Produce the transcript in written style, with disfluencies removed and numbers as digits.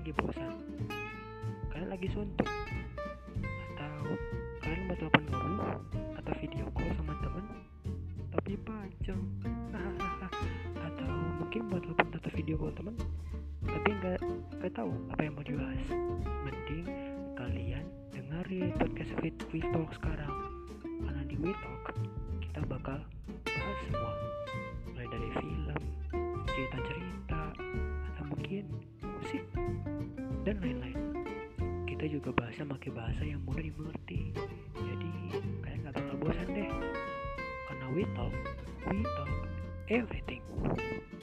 lagi bosan, kalian lagi suntuk, atau kalian mau telepon temen atau video call sama temen tapi pacong. Atau mungkin mau telepon atau video call temen tapi nggak tahu apa yang mau dibahas. Mending kalian dengerin podcast We Talk sekarang, karena di We Talk kita bakal bahas semua, mulai dari film, cerita-cerita, atau mungkin musik dan lain-lain. Kita juga bahasnya pakai bahasa yang mudah dimengerti, jadi kalian gak bakal bosan deh. Karena we talk everything.